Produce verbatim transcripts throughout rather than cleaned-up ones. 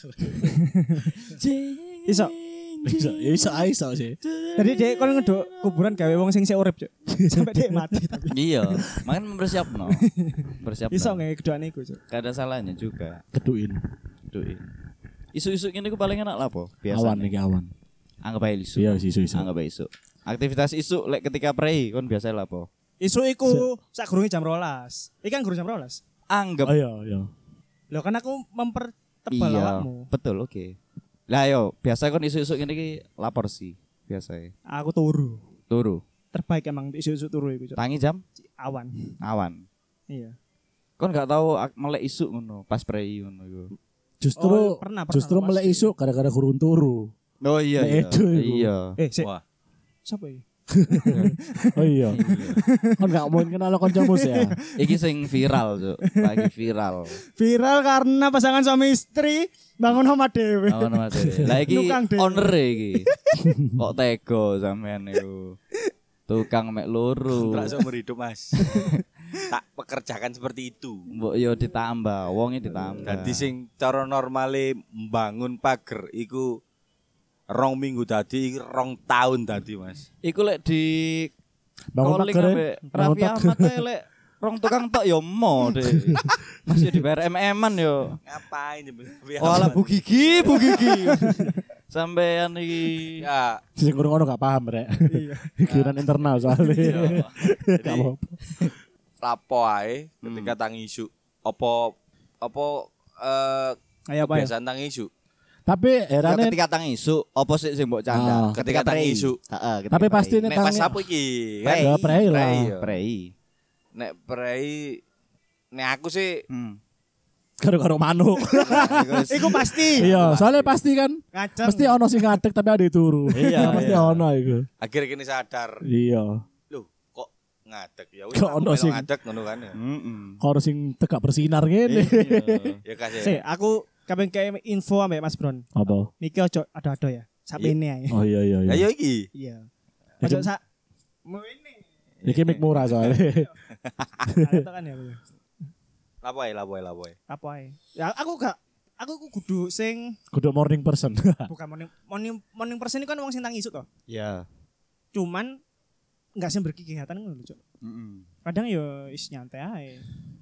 Iso. Iso, iso iso sih. Jadi dia kon ngeduk kuburan gawe wong sing sik urip, Cuk. Sampai dia mati tapi. Iya, makan mempersiapno. Persiapno. Iso nge kedokane iku, Cuk. Gak ada salahnya juga. Keduin. Keduin. Isu-isu ngene ku paling enak lah po. Awan iki awan. Anggap aja isu. Iya isu isu. Anggap aja isu. Aktivitas isu lek ketika prei kon biasa lah po. Isu iku sak gurunge jam rolas. Iki kan gurung jam rolas. Anggap. Oh iya iya. Lho kan aku mempertebal Iya, awakmu. betul, oke. Okay. Lah yo, biasa kon isu-isu ngene iki lapor sih biasa. Aku turu. Turu. Terbaik emang isu-isu turu iku, Cuk. Tangi jam Awan. awan. Iya. Kon gak tahu ak- melek isu ngono pas prei ngono iku. Justru Oh, pernah, pernah, justru pasti. melek isu gara-gara gurun turu. Oh iya. Nek Iya. edo iku. Iya. Eh, sik. Wah. Sapa iki? Oh iya. Kon gak mau kenal kancamu sih ya. Iki sing viral, Cuk. Lagi viral. Viral karena pasangan suami istri bangun rumah dhewe. Oh, nama dhewe. Lah iki Nukang dhewe. owner iki. Kok tega sampean niku. Tukang mek loro. Kontrak seumur hidup Mas. Tak pekerjakan seperti itu. Mbok yo ditambah, wonge ditambah. Dadi sing cara normale mbangun pager iku rong minggu dadi rong tahun dadi Mas. Iku lek di Bangun calling pager. ambek Raffi Ahmad ae lek rong tukang tok yo mo deh. Masih di bayar M M-an yo. Ngapain ya? Oh ala bu gigi, bu gigi. Sampean iki Ya, Sing kurang ono gak paham rek. Iya. Pikiran internal soalnya. iya. Gak Jadi apa-apa. lapo ae ketika tangi isu. Apa apa eh Ayo apa ya? kebiasaan tangi isu. Tapi ya herane ketika tang isu opo sik sing mbok Ah. canda? Ketika tangi isu. Heeh, ketika Tapi pasti prei. nek Nek pas tangi- apa iki? Prei. Ya, prei lah. ya. prei. Nek prei nek aku sih Hmm. karo-karo manuk. Iku pasti. Iya, soalnya pasti kan Ngajeng. mesti ono sing ngadeg tapi ada turu. Iya, pasti iya. ono iku. akhirnya kini sadar. Iya. Loh, kok ngadeg ya wis Kok aku ono melu sing- ngadeg ngono kan ya. Heeh. Karo sing tegak bersinar ngene. Ya kasih. Sik, aku kabeh kayak info ambek Mas Bron. Apa? Niki ojo ada-ada ya. Sapene ae. Oh iya iya Ya iya. yo iki. Iya. Ojo sak ini. Iki mic murah soalnya. Itu kan ya. aku. Lapo ae, lapo ae, lapo ae. Apa ae? Ya aku gak aku ku kudu sing Kudu morning person. bukan morning morning morning person ini kan wong sing tangi isu to. Ya. Cuman enggak sing berkegiatan ngono lho, Cuk. Heeh. Kadang yo is nyantai ae.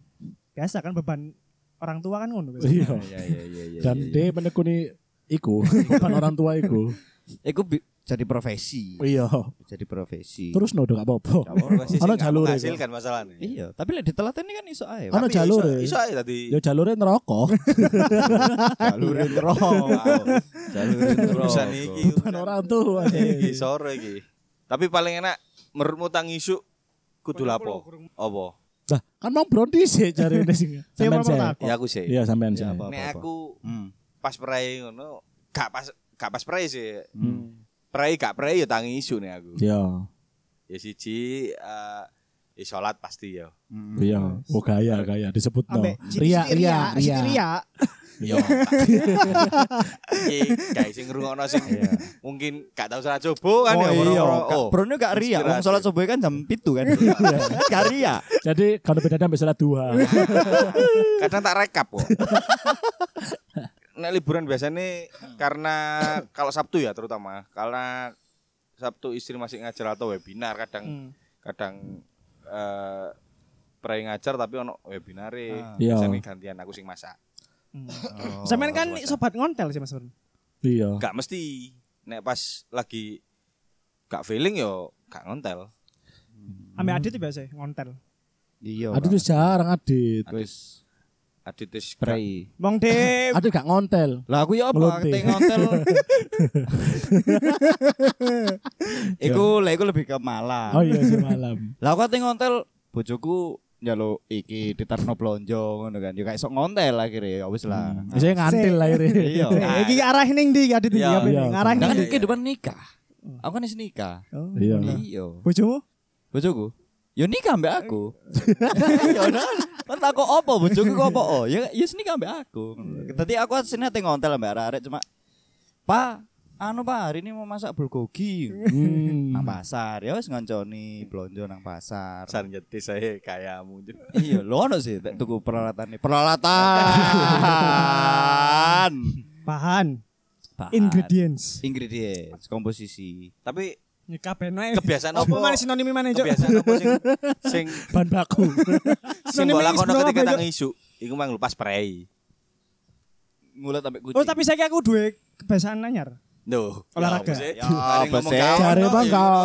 Biasa kan beban orang tua kan ngono biasa. Iya. Iya iya iya iya. Dan iya. dia menekuni iku, bukan orang tua iku. Iku bi- jadi profesi. Iya. Jadi profesi. Terus no gak apa-apa. Ono jalur e. Hasilkan masalahnya. Iya, tapi lek ditelateni kan iso ae. Ono Tapi ya jalur iso- e. Iso ae tadi. Ya jalure neraka. Jalure neraka. Jalure neraka. Urusan iki. Bukan orang tua. Iki sore iki. Tapi paling enak menurutmu tangi isu kudu lapo? Apa? Lah, kan mau bronti sih cari ini sing. Sampean sih. Ya aku sih. Iya, sampean sih. Ya, apa. Nek aku Hmm. pas prei ngono, gak pas gak pas prei sih. Hmm. Prei gak prei ya tangi isu nih aku. Iya. Ya siji eh ya salat pasti ya. Iya. Oh gaya gaya disebut no. Ambek Ria ria ria. ria. Iya. Iki guys sing ngrungokno sing mungkin gak tau salah coba kan Oh ya. iya, Oh. Brono gak ria. Wong salat subuh kan jam tujuh kan. Gak ria. Jadi kalau beda sampai salat dua. Kadang tak rekap kok. Nek liburan biasanya karena kalau Sabtu ya terutama karena Sabtu istri masih ngajar atau webinar kadang Hmm. kadang eh pre ngajar tapi ono webinare. Iya. Biasanya gantian aku sing masak. Hmm. Oh, Sampean kan sobat ngontel sih Mas Bron. Iya. Gak mesti nek pas lagi gak feeling yo gak ngontel. Ambek Adit tuh biasa ngontel. Iya. Adit tuh jarang Adit. wis Adit wis spray. Wong de Adit gak ngontel. Lah aku ya apa Ngelonte. keting hotel. Iku lah iku lebih ke malam. Oh iya sih malam. Lah aku keting hotel bojoku njaluk iki diterno blonjo ngono kan. Ya gak iso ngontel akhirnya ya wis lah. Saya ngantil lah ini. Iya. Eh, iki arah ning ndi Adit iki Iya, apa iya. ini? Ngarah Kan ning. Iya, kehidupan nikah. Aku kan wis nikah. Oh. Iya. Iya. Bojomu? Bojoku. Ya nikah mbak aku. Ya udah. Kan takok apa bojoku kok apa? Oh, ya ya nikah mbak aku. Tadi aku asline ate ngontel mbak arek cuma Pak, anu Pak, hari ini mau masak bulgogi. Hmm. Nang pasar. Ya wis ngonconi blonjo nang pasar. Sar nyetis saya kayamu. Iya, lho ono sih tak tuku peralatan. Peralatan. Bahan, Bahan. ingredients. Ingredients, komposisi. Tapi Ya kabeh noe. kebiasaan Apa apa? mana sinonim mana, Cuk? Kebiasaan apa sing sing Bahan baku. sing Sinonim mbok lakono is ketika berapa, tang isu? Iku mang lupa spray. Ngulet sampai kucing. Oh, tapi saya aku duwe kebiasaan anyar. Duh, Olahraga. Ya, apa apa sih? sih? Cari bang kau.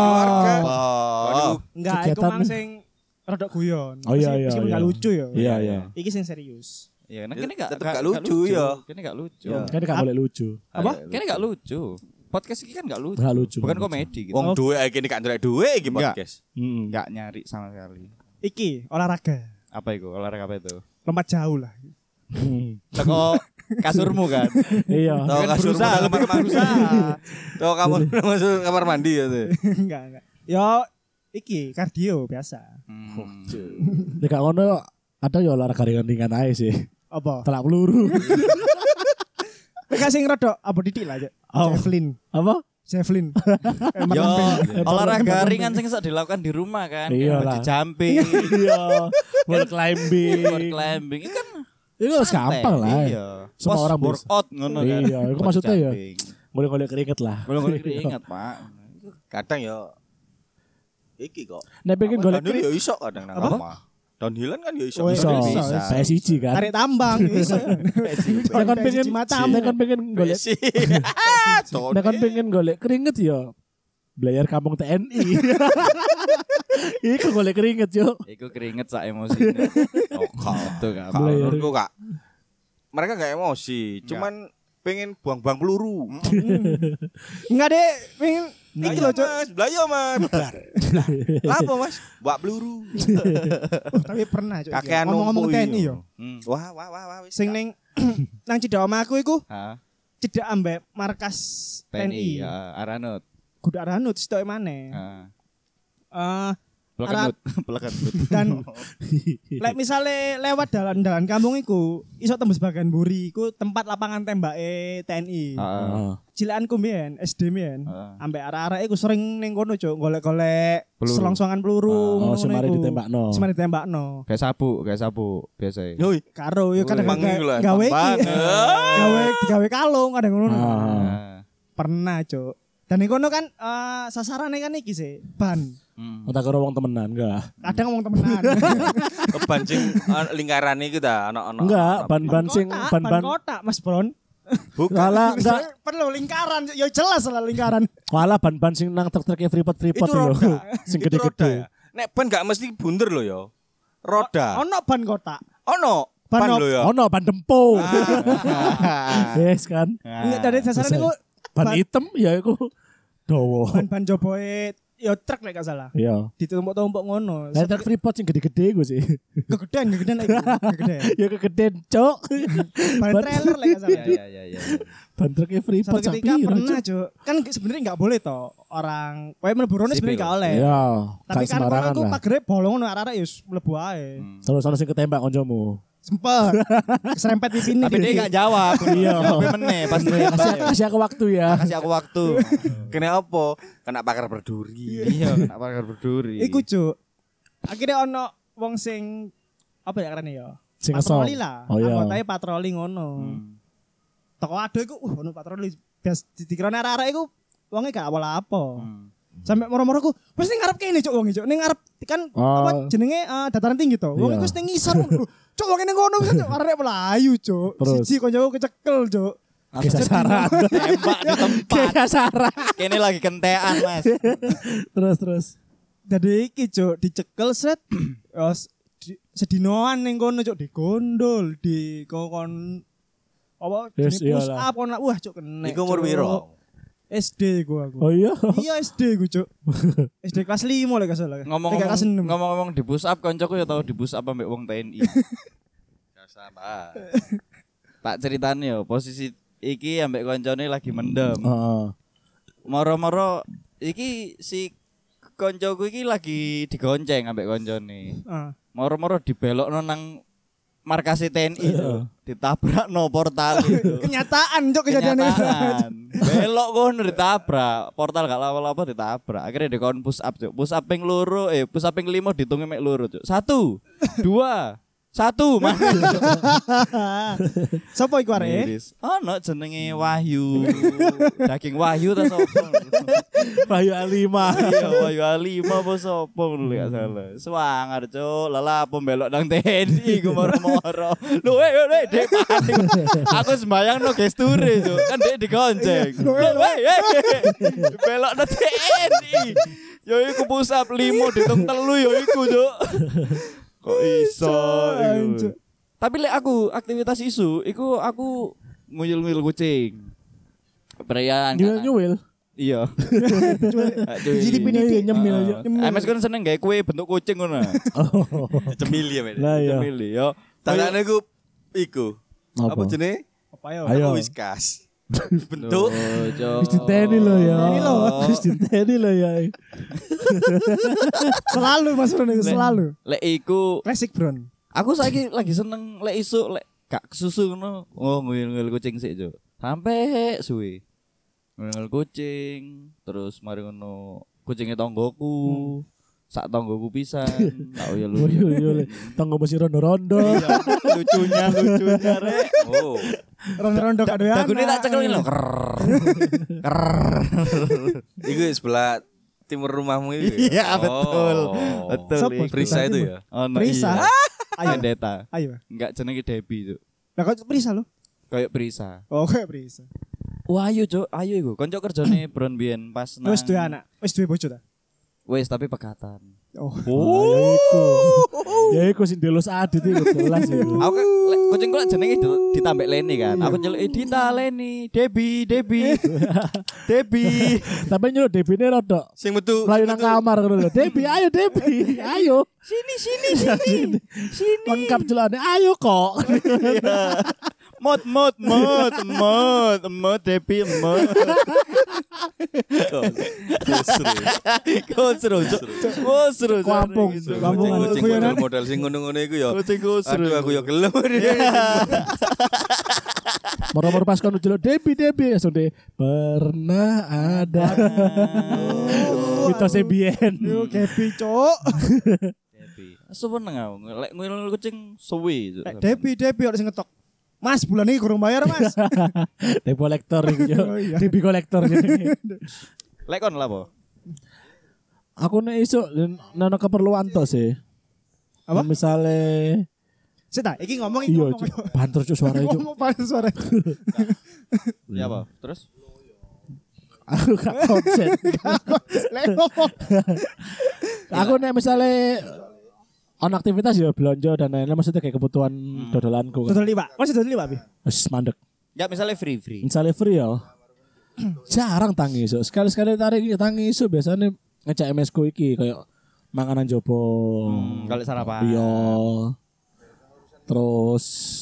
Oh. Enggak, iku Kegiatan. mang sing rodok guyon. Oh, iya, Meskipun- iya, Meskipun iya. enggak lucu ya. Iya iya. Iki sing serius. Ya, nah Ya, kene gak tetep gak lucu, ya. Kene gak lucu. Ya. Kan gak boleh lucu. Apa? Kene gak lucu. Podcast ini kan gak lucu. Gak lucu, Bukan gak lucu. komedi gitu. Wong duwe iki gak ndelok duwe iki Enggak. podcast. Heeh. Gak nyari sama sekali. Iki olahraga. Apa itu? Olahraga apa itu? Lompat jauh lah. Teko kasurmu kan. Iya. Tahu Kan kasur berusaha, kamar lebih mandi. berusaha. Tahu kamar masuk kamar mandi ya tuh. Enggak, enggak. Yo iki kardio biasa. Hmm. Nek gak ngono ada ya olahraga ringan-ringan aja sih. Apa? Telak peluru. Nek sing rodok apa didik lah, Cuk. Oh. Javelin. Apa? Javelin. Yo, Emang olahraga emang- ringan sing bisa dilakukan di rumah kan. Iya Kayak lah. bungee jumping, Iya. Wall climbing. board climbing. Itu kan Itu harus santai. gampang lah. Iya. Semua Pas orang bisa. workout ngono kan. Iya, itu Board maksudnya ya. jumping. Golek-golek keringet lah. Golek-golek keringat, Pak. Kadang ya iki kok. Nek pengen golek Downhill keringet ya iso kadang nang Apa? omah. Downhillan kan ya iso. Oh, iso. bisa, bisa. P S I J kan. Tarik tambang iso. Nek kan pengen matamu. nek kan pengen golek Besi. nek kan pengen golek keringet ya Belayar kampung T N I. Iku golek keringet yo. Iku keringet sak emosine. Oh, kak. Betul kan. Belayar. Menurutku kak, mereka gak emosi, cuman pengen buang-buang peluru. Enggak deh, pengen iki lho, Cuk. Mas, belayo mas. Lapo mas? Buat peluru. Oh, tapi pernah, Cuk. Kakean Ngomong-ngomong numpu T N I iki. yo. Hmm. Wah wah wah wah. wis, Sing Kak. ning nang cedek omahku iku Hah? cedek ambek markas T N I, T N I. ya, Aranut. Kudu aranut sitoke maneh. Heeh. Eh Pelekenut, pelekenut. dan lek misale lewat dalan-dalan kampung iku iso tembus bagian mburi iku tempat lapangan tembake T N I. Heeh. Cilakanku mbiyen S D mbiyen Heeh. ambek arek-arek iku sering ning kono, Cuk, golek-golek Peluru. selongsongan peluru. Oh, ngono semari iku. ditembakno. Semari ditembakno. Kayak sapu, kayak sapu biasa. Yoi. Karo yo kadang Emang gawe iku lah, gawe iki. tambang. Gawe digawe kalung kadang ngono. Ah. Nah. Pernah, Cuk. Dan ning kono kan eh sasarane kan iki sih, ban. Hmm. Otak karo wong temenan enggak? Kadang ngomong temenan. Kepancing ah, lingkaran iki ta ana-ana. Enggak, ban-ban sing Kotak, ban-ban. kotak, Mas Bron. Bukan. Salah, enggak. Perlu lingkaran, ya jelas lah lingkaran. Malah ban-ban sing nang truk-truk Freeport Freeport Itu lho. roda. Sing Itu roda. gede-gede. ya. Nek ban gak mesti bunder lho ya. Roda. Ono ban kotak. Ono Ban ban op- lho ya. Oh no, ban dempo. Ah. Yes kan. Enggak dari dasarnya Selesai. niku Ban ban- hitam ya iku dawa. ban-ban joboe ya truk lek gak salah. Iya. Ditumpuk-tumpuk ngono. Lah truk Freeport sing gede-gede iku sih. Kegedean, kegedean lagi. Kegedean. Ya kegedean, Cok. Ban trailer lek gak salah. Iya, iya, iya. Ban truk Freeport Satu ketika sapi. pernah, Cuk. Kan sebenarnya enggak boleh toh orang kowe mlebu rono Sipil. sebenarnya enggak oleh. Iya, Tapi gak kan kono sembarangan aku lah. pagere bolong ngono arek-arek ya wis mlebu ae. Hmm. Sono-sono sing ketembak koncomu. Sempet. Keserempet pipine. Tapi dia gak jawab. Iya. Jawabnya meneh pas Kasih kasih aku waktu ya. kasih aku waktu. Kena apa? Kena pakar berduri. Iya, kenapa harus berduri? Iku, Cuk. Akhirnya ono wong sing apa ya karene ya? Sing ngesol. Patroli lah. Oh iya. Anggotae patroli ngono. Hmm. Toko ado iku uh ono patroli. Bias dikirane arek-arek iku wonge gak apa-apa. Hmm. Sampai moro-moro ku wis ning ngarep kene, Cuk, wong Cuk. Ning ngarep kan Oh. apa jenenge eh, dataran tinggi to. Wong Iya. iku wis ning ngisor ngono. Cuk, wong ning kono wis, Cuk, arek melayu, Cuk. Terus? Siji koncoku kecekel, Cuk. Oke sasaran. Tembak di tempat. Kayak sasaran. Kene lagi kentean, Mas. Terus terus. Dadi iki, Cuk, dicekel set. Yos di- sedinoan ning kono, Cuk, digondol, di kokon apa Yes, jenis push iyalah. up kono. Wah, Cuk, kena. Iku umur Cuk. piro? S D gua aku. Oh iya. Iya S D gue, Cuk. S D kelas lima lah salah. Ngomong-ngomong kelas enam. ngomong-ngomong di push up koncoku ya tau di push up ambek wong T N I. Sama. Tak ceritane yo, posisi iki ambek koncone lagi mendem. Heeh. Moro-moro iki si koncoku iki lagi digonceng ambek koncone. Ah. Moro-moro dibelokno nang markas T N I Iya. tuh. Ditabrakno portal itu. Kenyataan, Cuk, kejadiannya. Kenyataan. Belok kono ditabrak, portal gak lawa-lawa ditabrak. Akhirnya dikon push up, Cuk. Push up ping loro, eh push up ping limo dihitungi mek loro, Cuk. Satu, dua, Satu Mas. Sopo iku arek? Miris. Ono jenenge Wahyu. Daging Wahyu ta sapa? Wahyu Alima. Iya, Wahyu Alima apa sapa ngono lek gak salah. Swangar cuk, lala pembelok nang T N I ku moro-moro. Lho eh eh Dek mati. Aku sembayangno gesture cuk, kan Dek digonceng. Lho eh eh belok nang T N I. Yo iku pusap limo ditung telu yo iku cuk. Kok iso iku. Tapi lek aku aktivitas isu, iku aku nguyul-nguyul kucing. Perayaan. Nyuwil-nyuwil. Iya. Jadi pendidik nyemil. M S kan seneng gawe kue bentuk kucing ngono. Cemili ya, men. Lah ya. Cemili yo. Tangannya iku iku. Apa jenenge? Apa yo? Ayo. Whiskas. Bentuk Wis diteni lho ya. Diteni lho. Wis diteni lho ya. Selalu Mas Bron iku selalu. Lek iku Klasik Bron. aku saiki lagi seneng lek isuk lek gak kesusu ngono. Oh, nguyul-nguyul kucing sik, Cuk. Sampai suwe. Nguyul kucing, terus mari ngono kucingnya tonggoku. Sak tonggoku pisan. Tak yo Oh iya iya. Tanggo mesti rondo-rondo. lucunya lucunya rek. oh. Rondo-rondo kado ya. Dagune tak cekelin lho. Iku sebelah timur rumahmu itu. Iya, betul. Oh. Betul. Sopo? iku. Prisa itu ya. Oh, no, Prisa. iya. Ayo. Pendeta. Ayo. Enggak jenenge Debbie, Cuk. Lah kok Prisa lo? Kayak Prisa. Oh, kayak Prisa. Wah, ayo, Cuk. Ayo iku. Konco kerjane Bron biyen pas nang Wis duwe anak, wis duwe bojo ta? Wis tapi pekatan. Oh. Oh, ya iku. Ya iku sing delus adit iku jelas iku. Aku kan lek kucing kok jenenge di- ditambah Leni kan. Aku nyeluk Dita Leni, Debbie, Debbie. Debbie. Tapi nyuruh Debine rodok Sing metu mlayu nang kamar ngono lho. Debi, ayo Debi. Ayo. Sini sini sini. Sini. Lengkap celane. Ayo kok. Mot mot mot mot mot Debbie mot. Kok seru. Kok seru. Kampung. Kampungan. kucing Guyonan. model sing ngono-ngono iku ya. Kucing kok seru. Aduh aku ya gelem. Moro-moro pas kono jeluk Debi Debi langsung deh pernah ada. Mitosnya biyen. Yo Debi, Cuk. Debbie. Seneng aku. Lek nguyul kucing suwi. Lek Debi, Debi ora sing ngetok. Mas, bulan ini kurang bayar, Mas. Debi kolektor iku yo. Oh, iya. Debi kolektor jadi. Lek kon lah apa? Aku nek iso nana keperluan to sih. Apa? Misalnya Sik ta, iki ngomong iki iya ngomong. Cuk. Banter cuk suara cuk. Ngomong pas suara. Ya apa? Terus? Aku gak konsen. Lek ngomong. Aku nek misalnya on aktivitas ya belanja dan lain-lain maksudnya kayak kebutuhan dodolanku kan. Dodol liwak. Mas dodol liwak, Bi? Wis mandek. Ya misalnya free free. Misalnya free ya. Jarang tangi iso. Sekali-sekali tarik tangi iso biasanya ngecek M S ku iki kayak manganan jopo. Hmm, kalau sarapan. Iya. Terus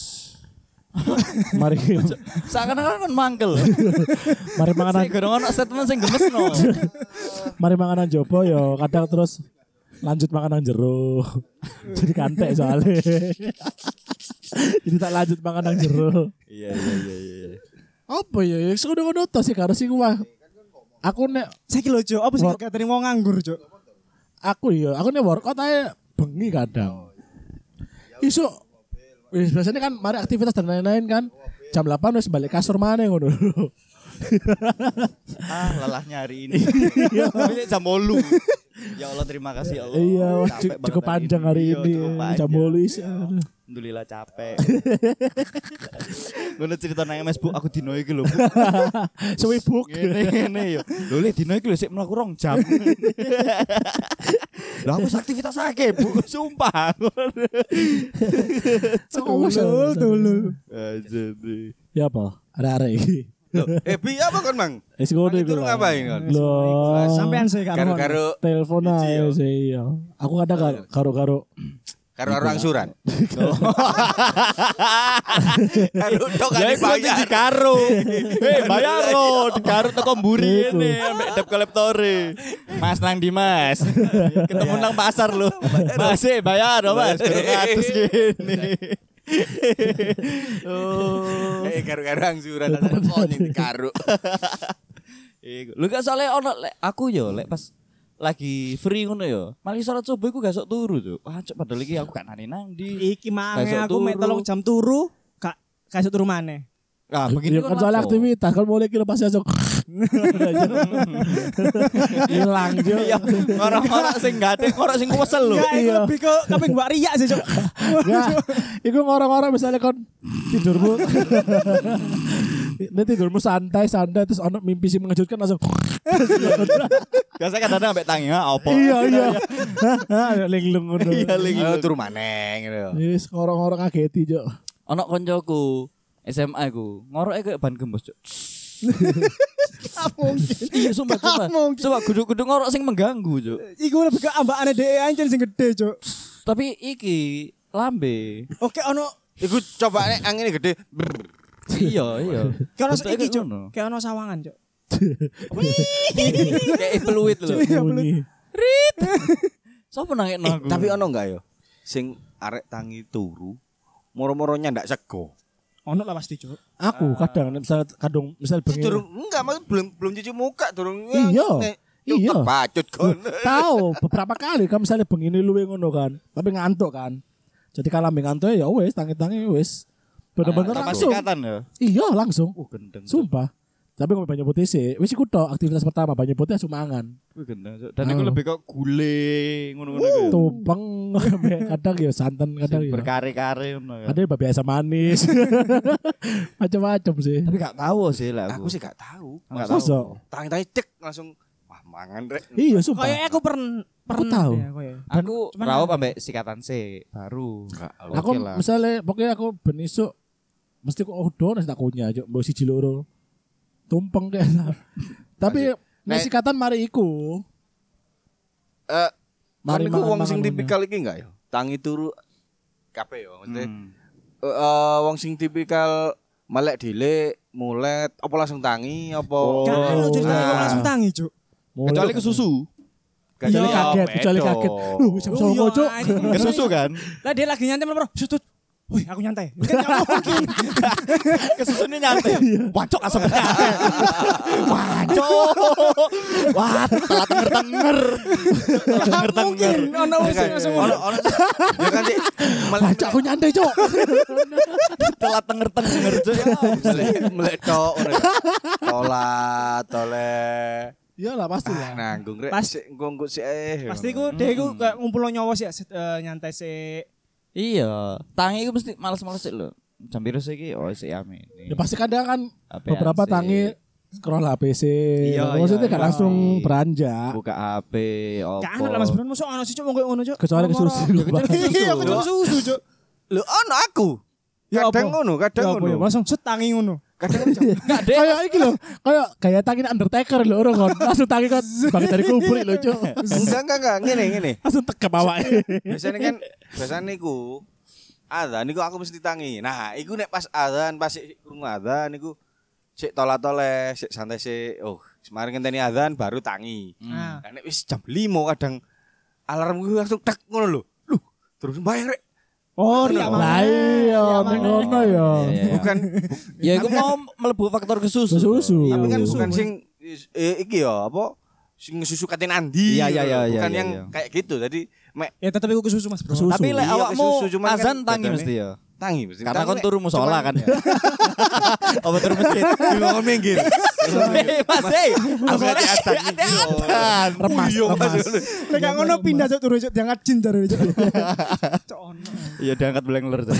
mari Seakan-akan kan mangkel. mari manganan Sing gorong ono statement sing gemesno. mari manganan jopo ya kadang terus lanjut manganan jero. Jadi kantek soalnya. Jadi tak lanjut manganan jero. Iya iya iya iya. Apa ya? Ya ngono-ngono to sih karo sing wah. Aku nek Saiki lho, Cuk, apa sih Wor- katanya mau nganggur, Cuk? aku ya, aku nek workout ae bengi kadang. Isu wis biasanya kan mari aktivitas dan lain-lain kan. Jam delapan wis balik kasur maneh ngono. Ah, lelahnya hari ini. Tapi jam bolu. Ya Allah, terima kasih ya Allah. Iya, wah, Capek cu- banget cukup panjang hari Iya, ini. cukup panjang. Jam bolis. aduh. Alhamdulillah capek. Ngono cerita nang M S Bu, aku dino iki lho, Bu. Sewibuk. Ngene ngene yo. Lho le dino iki lho sik mlaku rong jam. Lah aku aktivitas akeh, Bu. Sumpah. Tulul, tulul. Aja Ya apa? Ada-ada iki. Loh, eh bi apa kon, Mang? Wis ngono Mang, iku. itu lah. ngapain, kon? Loh. Sampean sih karo. Karo-karo Telepon Biji, aja yo. sih iya. Aku kadang karo- karo-karo karo orang suran. Karo tok kan Ya iku nanti dibayar. dikaro. Eh, bayar lo, dikaro teko mburi Iku. ini ambek dep kolektore. Mas nang di Mas. Ketemu nang pasar lo. Mas eh bayar lo, Mas. Kurang atus gini. Oh. Eh karo-karo angsuran kok ning karo. Iku. Lu gak soalnya ono lek aku yo lek pas lagi free ngono ya. Mali salat subuh iku gak sok turu, Cuk. Wah, Cuk, padahal iki aku gak nani nang ndi. Iki maneh Besok aku mek turu. telung jam turu, gak gak iso turu maneh. Ah, Begini begini kan soalnya aktivitas kan mulai kilo pasti langsung hilang jo. Iya, orang-orang sing gade, orang sing kesel lho. Ya, iku Iya. lebih ke kaping mbak Ria sih, Cuk. Enggak, itu orang-orang misalnya kon tidurmu, ini tidurmu santai santai terus ono mimpi sih mengejutkan langsung. Biasa kadang-kadang ambek tangi, ha apa? Iya iya. Linglung ngono. Iya, lagi. Ayo turu maneh gitu. Yes, orang-orang ngageti jo. Ono koncoku S M A ku, ngoroke kayak ban gembos, Cuk. Mungkin. Iya, sumpah, sumpah. Mungkin. Sumpah guduk-guduk ngorok sing mengganggu, Cuk. Iku lebih ke ambakane dhewe anjen sing gede, Cuk. Tapi iki lambe. Oke, ono Iku coba nek angin gede. brrr. Iya, iya. kayak ono Bentuknya iki, Cuk. ngono. Kayak ono sawangan, Cuk. Kayak peluit lho. Iya, Bunyi. Sopo nangekno Eh, aku? tapi ono enggak yo? Sing arek tangi turu, moro-moronya ndak sego. Ono lah pasti, Cuk. Aku kadang misal kadung misal bengi. Durung enggak maksud belum belum cuci muka durung. Iya. Nek- Iya. Yuk, kepacut kon. Tahu beberapa kali kan misalnya begini luwe ngono kan, tapi ngantuk kan. Jadi kalau ambil ngantuk ya wes tangi-tangi wes. Bener-bener Sama langsung. sikatan ya. Iya langsung. Uh, gendeng. Sumpah. Tapi ngomong banyak putih sih. Wes iku tok aktivitas pertama banyak putih langsung mangan. Wih, gendeng. Cuk. Dan iku lebih kok gule ngono-ngono iku. Tumpeng kadang ya santan kadang ya. Berkare-kare ngono ya. Ada yang biasa manis. Macam-macam sih. Tapi gak tahu sih lah Aku aku. sih gak tahu. Gak Masa? tahu. Tangi-tangi cek langsung wah mangan rek. Iya sumpah. Kayak aku pernah pernah tahu. deh, aku ya. Aku Cuman- rawup ambek sikatan sih baru. Aku Oke lah. misalnya pokoknya aku ben isuk mesti kok udah nasi tak kunyah aja mbok siji loro. Tumpeng kayak. Tapi Nek- nasi katan mari iku. Eh, Mari mari iku wong mangan-mangan sing ngono. tipikal iki enggak yo? Tangi turu kabeh yo maksudnya. Hmm. Eh, eh, wong sing tipikal melek dile, mulet, apa langsung tangi apa? Oh. Gak ono ceritanya kok Nah. langsung tangi, Cuk. Kecuali ke susu. Kecuali Iya, kaget, kecuali bedo. kaget. Lu jam Oh, songo, iya, Cuk. anjing. Ke susu kan? Lah dia lagi nyantai malah, "Sut, sut. Wih, aku nyantai." Kan gak mungkin. Ke susu ini nyantai. Wancok asap. Wancok. Wah, telat tenger-tenger. Gak mungkin ono wong sing langsung Ono ngono. ono ya kan sih melek Baca aku nyantai, Cuk. Telat tenger-tenger. Cuk. Ya, melek melek tok ngono. Tola, tole. Iyalah pasti Ah, lah. nanggung rek. Pas- Sik engko engko sik eh. Pasti ku dia ku kayak ngumpul nyawa sih eh, nyantai sih. Iya, tangi itu mesti males-males sih lho. Jam biru sih iki oh sik amin. Ya pasti kadang kan Apaan beberapa sih? tangi scroll H P C. Iya, Maksudnya iya, kan iya. langsung beranjak. Buka H P, opo. Gak ono lah Mas Bro, mosok ono sih Cuk wong koyo ngono, Cuk. Kecuali ke susu. Moro-moro. Iya, kecuali susu, Cuk. Lho ono aku. Ya Kadang apa? ngono, kadang Ya apa ya? ngono. Langsung set tangi ngono. Kadang Enggak deh. Kayak iki lho, kayak gaya tangi Undertaker lho orang kon. Langsung tangi kon bangkit dari kubur lho, Cuk. enggak enggak enggak ngene ngene. Langsung tekep awake. Biasanya kan biasanya niku adzan niku aku mesti tangi. Nah, iku nek pas adzan pas sik krungu adzan niku sik tola-tole, sik santai sik. Oh, semari ngenteni adzan baru tangi. Nah, Nah, nek wis jam lima kadang alarmku langsung tek ngono lho. Loh, terus bayar rek. oh iya Lah iya, ning ngono ya. Bukan Ya iku mau mlebu faktor ke susu. Susu. tapi kan Susu, bukan Mas. sing eh, iki ya apa sing susu katen andi. Iya, iya, iya, iya, Bukan iya, yang iya. kayak gitu. Jadi mek ya tetep iku ke susu Mas Bro. Susu. Tapi lek Iya, awakmu ke susu, cuman kan azan tangi bedane- mesti ya. tangi mesti. Karena Tangi kon nek- turu musola cuman- kan ya. Apa turu masjid? Di ruangan minggir. Eh, Mas, eh. Aku hati adzan. Adzan. Remas, Iya, Mas. remas. Lek gak ngono pindah Cuk turu Cuk diangkat jin jare Cuk. Cuk ono. Iya diangkat belengler. Cuk.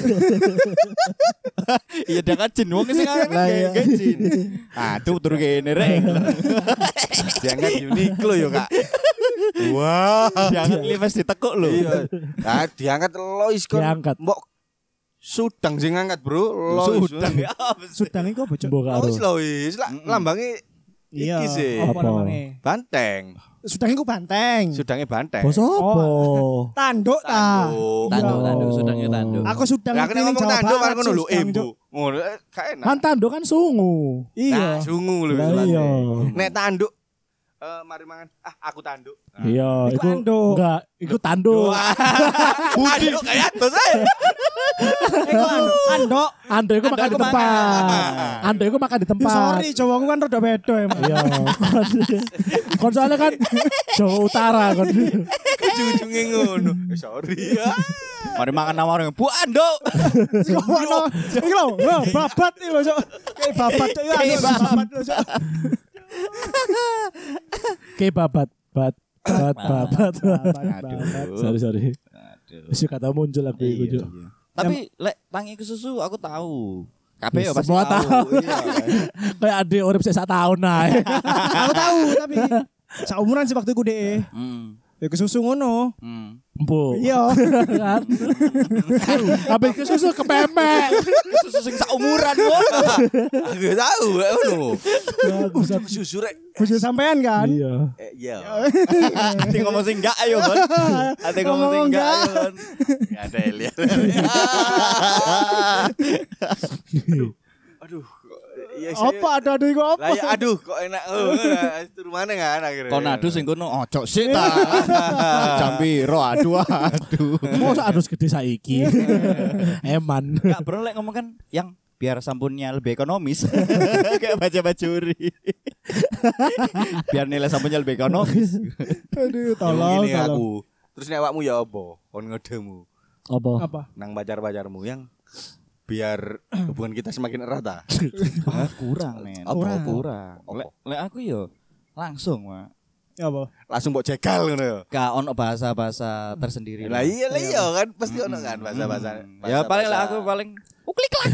Iya diangkat jin wong sing Lah, ngangkat iya. kayak jin. Aduh turu kene rek. Diangkat Uniqlo yo, Kak. Wah. Diangkat Levi's ditekuk lho. Iya. Nah, diangkat Lois kon. Diangkat. Mbok Sudang sing ngangkat, Bro. Lois. Sudah ya. Sudang iku apa Cuk? Mbok karo. Lois, Lois. Lah lambange Iya. iki sih. Apa Apa? namanya? Banteng. Sudang iku banteng. Sudangnya banteng. Bos opo? Tanduk ta. Tanduk. Tanduk, Iya. tanduk, sudangnya tanduk. Aku sudang Lah ngerti kena ning ngomong Jawa tanduk Barat, kan ngono lho, Sudang, ibu. Cuk. Ngono eh, gak enak. Kan tanduk kan sungu. Iya. Nah, sungu lho Lah istilahnya. iya. Nek tanduk eh mari mangan. Ah, aku tanduk. Nah. Iya, Iku iku anduk. enggak, iku tanduk. Budi kayak atus ae. Iku anu, andok. Ando iku makan di Ando iku tempat. makan. Ando iku makan di Ya, tempat. sorry, Jawaku kan rada beda emang. Iya. Kon soalnya kan Jawa Utara kon. Ujung-ujungnya ngono. Eh, sorry ya. Mari makan nama orang Bu Ando. Kok ono iki lho, lho, babat iki lho, Cuk. Kayak babat Cuk, ya Kayak babat lho, Cuk. Kayak babat, bat, bat, babat. Aduh. Sorry, sorry. Aduh. Wis kata muncul aku iku, Iya, Cuk. iya. Tapi lek tangi ke susu aku tahu. Kabeh ya pasti Semua tahu. Iya. Kayak adik urip sik sak tahun ae. Aku tahu tapi saumuran sih waktu iku dhek. Hmm. Ya kesusu ngono. Hmm. Empu. Iya. Kan. Habis ke susu kepemek. Susu sing saumuran kok. Aku tahu ya ngono. Bangsat. Susu rek. Bojo sampean kan? Iya. Eh, iya. Ati ngomong sing enggak ayo, Kon. Ati ngomong sing enggak ayo, Kon. Enggak ada lihat. Aduh. Iya, Apa ada ada iku apa? Lah ya aduh kok enak. Oh, turu mana kan akhirnya. Kon adu sing kono ojo sik ta. Jam piro aduh aduh. Mosok adus gede saiki. Eman. Enggak bro lek ngomong kan yang biar sabunnya lebih ekonomis. Kayak baca bacuri. Biar nilai sabunnya lebih ekonomis. Aduh, Tolong tolong, ini tolong. aku. Terus nek awakmu ya apa? Kon ngedemu Apa? Apa? nang pacar-pacarmu yang biar hubungan kita semakin erat ah. Ah, kurang men. Apa, Kurang. apa? Kurang. Lek lek aku yo langsung, Mak. Ya apa? Langsung mbok jegal ngono ya. Gak ono bahasa-bahasa tersendiri. Lah iya lah iya kan pasti ono kan bahasa-bahasa. Hmm. Ya paling lah aku paling uklik klak.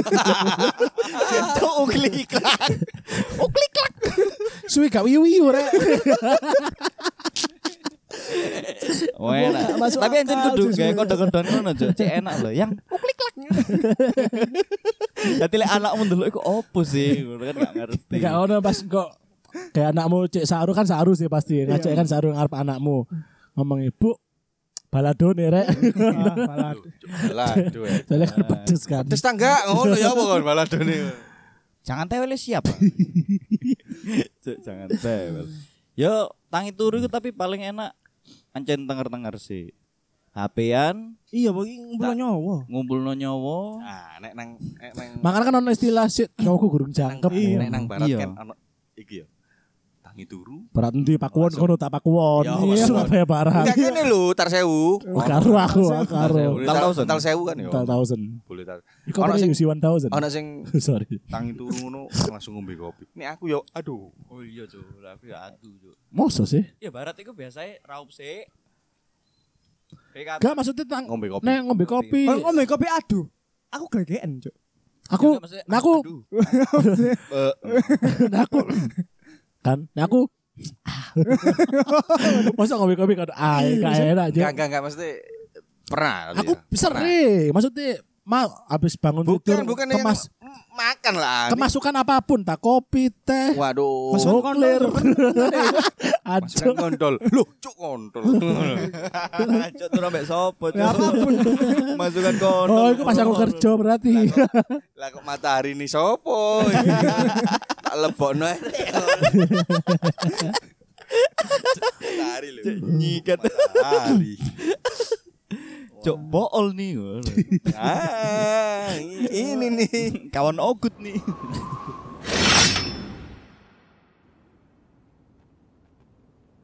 Itu uklik klak. Uklik klak. Suwi gak wiu-wiu rek. Oh, enak. Masuk Tapi anjen akal, kudu Jus. gawe kode-kodean ngono, Cuk. Cek enak lho, yang uklik klak. Dadi lek anakmu ndelok iku opo sih? Ngono kan gak ngerti. Gak ono pas kok kayak anakmu cek saru kan saru sih pasti. Ngajak kan saru ngarep anakmu. Ngomong ibu balado nih rek. Ah, balad. Lah aduh. eh. Soalnya kan pedes kan. Pedes tangga ngono ya apa kon baladone. Jangan tewel siap. Cuk, jangan tewel. Yo, tangi turu iku tapi paling enak ancen tenger-tenger sih. H P-an Iya, bagi ngumpul nyawa. ngumpulno nyawa. Nah, nek nang nek nang Makanya kan ono istilah sih cowokku gurung jangkep. Iya. nek nang barat Iya. kan ono iki ya. Tangi turu. Berat endi pakuwon kono tak pakuwon. Ya, Iya, Surabaya Barat. Enggak kene lho, tar sewu. Oh, karo aku, karo. Boleh Tal tar- thousand. Tal sewu kan ya. Tal thousand. Boleh tar. Iku Ono apa sing sing U C one thousand? ono sing Sorry. tangi turu ngono langsung ngombe kopi. Nek aku yo aduh. Oh iya, Cuk. Aku ya adu, Cuk. Mosok sih? Ya barat iku biasanya raup sik. Kayak Gak maksudnya tang Ngombe kopi. nek ngombe kopi. Kalau ngombe kopi aduh. Aku glegeken, Cuk. Aku, Enggak, maksudnya, nah aku, aduh. nah aku, kan, nah aku. Masa ngombe kopi kan, ah, gak enak aja. Enggak enggak enggak mesti pernah. Aku ya. Pernah. sering, maksudnya mau habis bangun Bukan tidur bukan yang kemas makan lah. kemasukan apapun, tak kopi, teh, Waduh. Masuk oh, clear. Masukan Aduh, kontol. Loh, cuk kontol. Cuk turu ambek sopo, Cuk. Ya apapun. Masukan kono. oh, itu pas aku kerja berarti. Lah kok matahari ini sopo? Tak lebokno ae. Matahari lho. Nyikat. Matahari. Cuk bool nih. Ah, ini nih. Kawan ogut nih.